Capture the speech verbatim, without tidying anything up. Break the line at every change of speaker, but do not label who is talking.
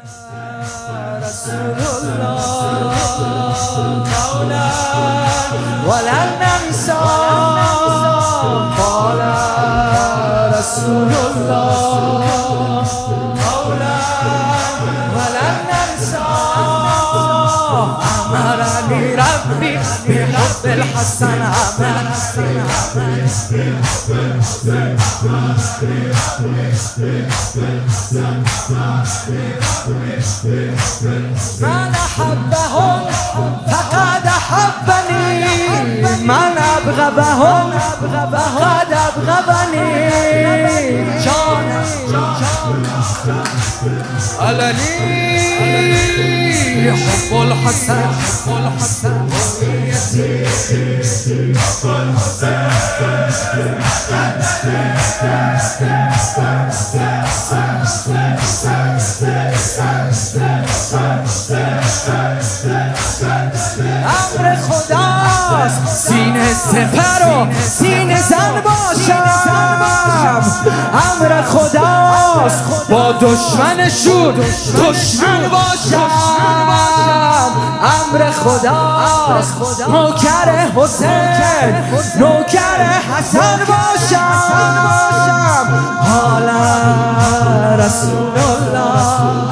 رسول الله مولا ولن ننسى قال رسول الله مولا ولن ننسى أمرني ربي بحب الحسن من أحبهم فقد أحبني من أبغضهم فقد أبغضني جانا علني حب الحسن حب الحسن امر خداست سینه سپر و سینه زن باشم امر خداست با دشمنشون دشمن باشم امر خداست نوکر حسین نوکر حسن باشم حالا رسول الله